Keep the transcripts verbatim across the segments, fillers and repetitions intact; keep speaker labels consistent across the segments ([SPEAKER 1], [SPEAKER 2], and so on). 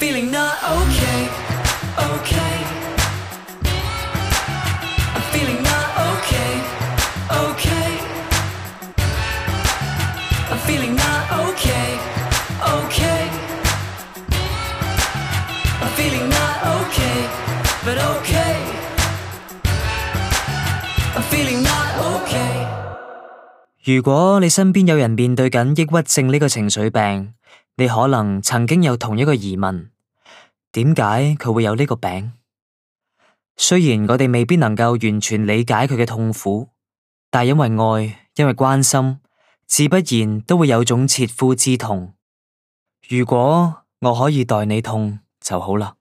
[SPEAKER 1] feeling not okay, okay. I'm feeling not okay, okay. I'm feeling not okay, okay. I'm feeling not okay, but okay. I'm feeling not okay.
[SPEAKER 2] 如果你身邊有人面對緊抑鬱症呢個情緒病，你可能曾經有同一個疑問：點解佢會有呢個病？雖然我哋未必能夠完全理解佢嘅痛苦，但因為愛，因為關心，自不然都會有種切膚之痛。如果我可以代你痛就好啦。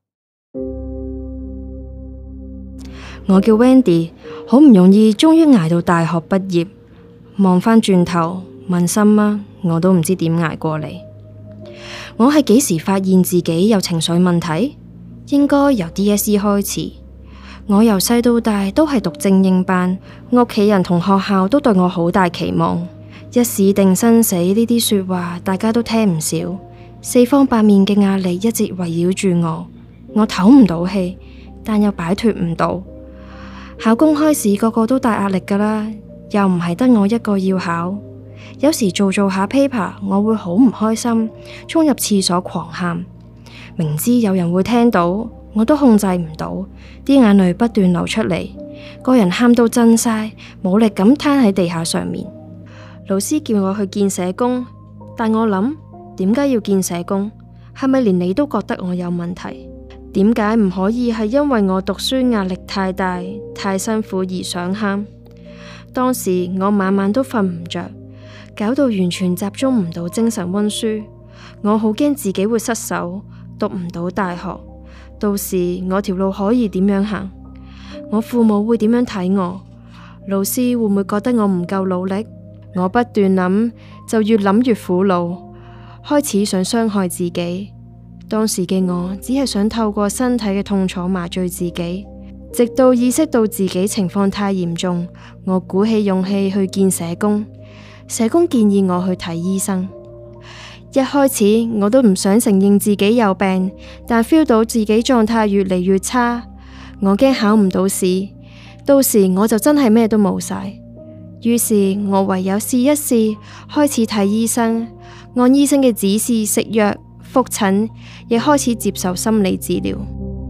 [SPEAKER 3] 我叫 Wendy， 好唔容易終於捱到大學畢業，望返轉頭問心啊，我都唔知點捱過嚟。我係幾時發現自己有情緒問題？應該由 D S E 開始。我由細到大都係讀精英班，屋企人同學校都對我好大期望，一試定生死呢啲說話大家都聽唔少，四方八面嘅壓力一直圍繞住我，我唞唔到氣，但又擺脫唔到。考公開試個個都大壓力噶啦，又唔係得我一個要考。有時做做下 paper， 我會好唔開心，衝入廁所狂喊，明知有人會聽到，我都控制唔到，啲眼淚不斷流出嚟，個人喊到震晒，冇力咁攤喺地下上面。老師叫我去見社工，但我諗，點解要見社工？係咪連你都覺得我有問題？點解唔可以係因為我讀書壓力太大、太辛苦而想喊？當時我晚晚都瞓唔着，搞到完全集中唔到精神溫書。我好驚自己會失手，讀唔到大學。到時我條路可以點樣行？我父母會點樣睇我？老師會唔會覺得我唔夠努力？我不斷諗，就越諗越苦惱，開始想傷害自己。當時嘅我只係想透過身體嘅痛楚麻醉自己，直到意識到自己情況太嚴重，我鼓起勇氣去見社工。社工建議我去睇醫生。一開始我都唔想承認自己有病，但 feel 到自己狀態越嚟越差，我驚考唔到試，到時我就真係咩都冇晒。於是我唯有試一試，開始睇醫生，按醫生嘅指示食藥、復診，亦開始接受心理治療。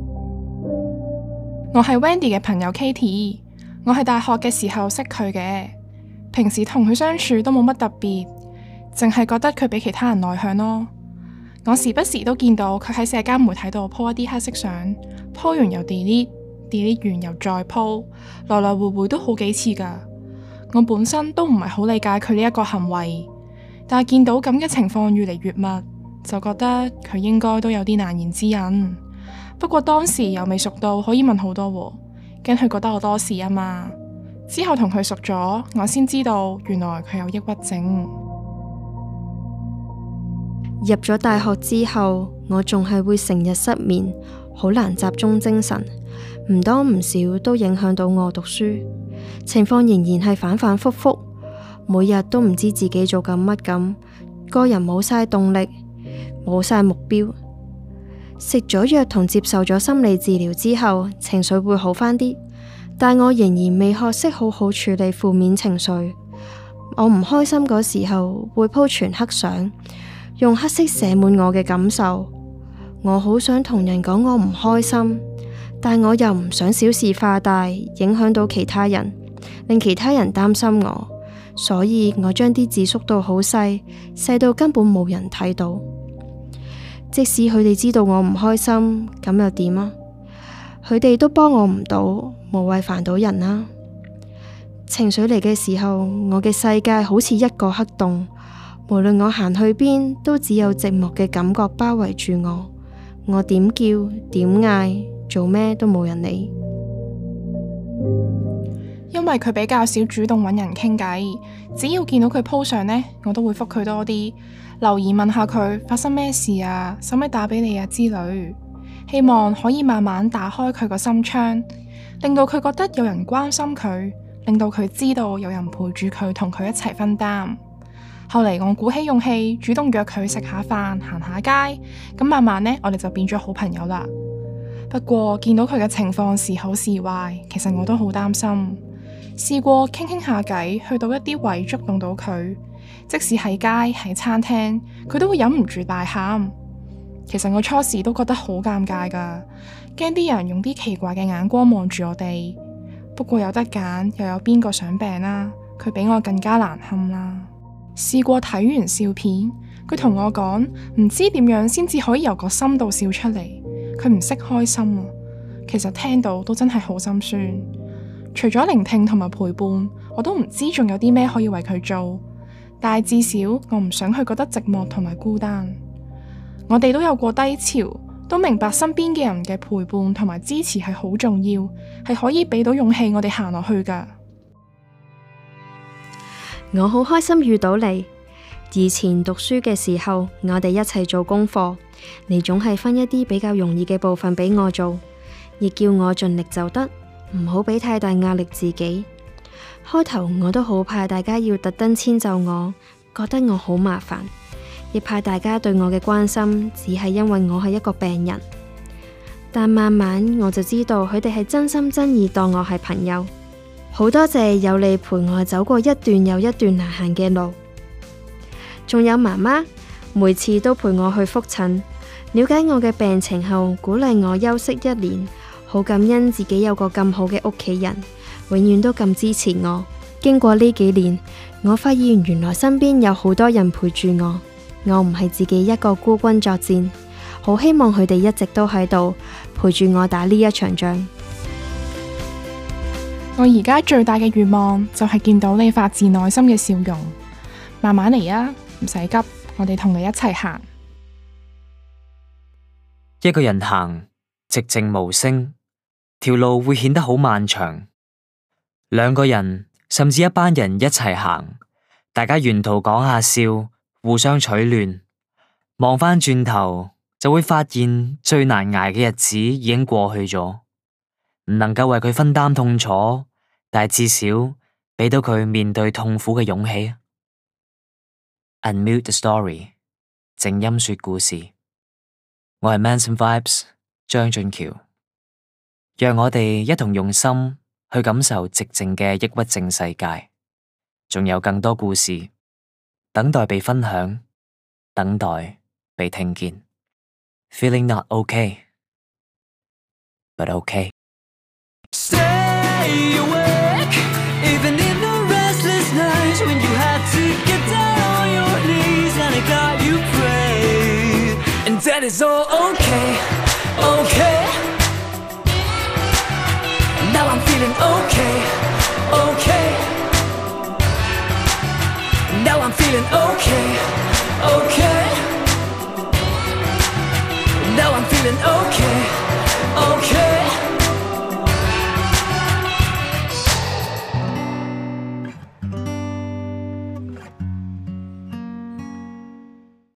[SPEAKER 4] 我係 Wendy 嘅朋友 Katie， 我係大學嘅時候識佢嘅，平時同佢相處都冇乜特別，淨係覺得佢比其他人內向咯。我時不時都見到佢喺社交媒體度 po 一啲黑色相，po 完又 delete，delete 完又再 po， 來來回回都好幾次噶。我本身都唔係好理解佢呢一個行為，但係見到咁嘅情況越嚟越密，就覺得佢應該都有啲難言之隱。不過當時又未熟到可以問好多喎，驚佢覺得我多事啊嘛。之後同佢熟咗，我先知道原來佢有抑鬱症。
[SPEAKER 3] 入咗大學之後，我仲係會成日失眠，好難集中精神，唔多唔少都影響到我讀書。情況仍然係反反复复，每日都唔知自己做緊乜咁，個人冇晒動力，冇晒目標。食咗藥同接受咗心理治療之後，情緒會好返啲，但我仍然未學識好好處理負面情緒。我唔開心嗰時候會鋪全黑相，用黑色寫滿我嘅感受。我好想同人講我唔開心，但我又唔想小事化大，影響到其他人，令其他人擔心我，所以我將啲字縮到好細，細到根本冇人睇到。即使佢哋知道我唔開心，咁又點啊？佢哋都幫我唔到，無謂煩到人啦。情緒嚟嘅時候，我嘅世界好似一個黑洞，無論我行去邊，都只有寂寞嘅感覺包圍住我。我點叫點嗌，做咩都冇人理。
[SPEAKER 4] 因為佢比較少主動揾人傾偈，只要見到佢 po 相呢，我都會覆佢多啲，留言問下佢發生咩事啊，使唔使打俾你啊之類，希望可以慢慢打開佢個心窗，令到佢覺得有人關心佢，令到佢知道有人陪住佢，同佢一齊分擔。 後嚟我鼓起勇氣主動約佢食下飯、行下街，咁慢慢呢，我哋就變咗好朋友啦。不過見到佢嘅情況時好時壞，其實我都好擔心。試過傾傾下偈，去到一啲位觸動到佢，即使喺街喺餐廳，佢都會忍唔住大喊。其實我初時都覺得好尷尬噶，驚啲人用啲奇怪嘅眼光望住我哋。不過有得揀，又有邊個想病啦？佢比我更加難堪啦。試過睇完笑片，佢同我講唔知點樣先至可以由個心度笑出嚟，佢唔識開心啊。其實聽到都真係好心酸。除咗聆聽同埋陪伴，我都唔知仲有啲咩可以為佢做。但係至少我唔想佢覺得寂寞同埋孤單。我哋都有過低潮，都明白身邊嘅人嘅陪伴同埋支持係好重要，係可以俾到勇氣我哋行落去噶。
[SPEAKER 3] 我好開心遇到你。以前讀書嘅時候，我哋一齊做功課，你總係分一啲比較容易嘅部分俾我做，亦叫我盡力就得，唔好俾太大壓力自己。開頭我都好怕大家要特登遷就我，覺得我好麻煩，亦怕大家對我嘅關心只係因為我係一個病人。但慢慢我就知道佢哋係真心真意當我係朋友。好多謝有你陪我走過一段又一段難行嘅路，仲有媽媽每次都陪我去復診，了解我嘅病情後鼓勵我休息一年，好感恩自己有個咁好嘅屋企人，永遠都咁支持我。經過呢幾年，我發現原來身邊有好多人陪住我，我唔係自己一個孤軍作戰，好希望佢哋一直都喺度陪住我打呢一場仗。
[SPEAKER 4] 我而家最大嘅願望就係見到你發自內心嘅笑容。慢慢嚟啊，唔使急，我哋同你一齊行。
[SPEAKER 2] 一個人行，寂靜無聲，條路會顯得好漫長。兩個人甚至一班人一齊行，大家沿途講下笑，互相取暖。望返轉頭，就會發現最難捱嘅日子已經過去咗。唔能夠為佢分擔痛楚，但係至少俾到佢面對痛苦嘅勇氣。Unmute the story， 靜音說故事。我係 Manson Vibes 張俊橋，讓我哋一同用心去感受寂靜嘅抑鬱症世界。仲有更多故事等待被分享，等待被聽見。Feeling not okay, but okay.Stay
[SPEAKER 1] awake, even in the restless nights when you had to get down on your knees and it got you pray. And that is all okay, okay. Now I'm feeling okay, okay. Now I'm feeling okay, okay. Now I'm feeling okay.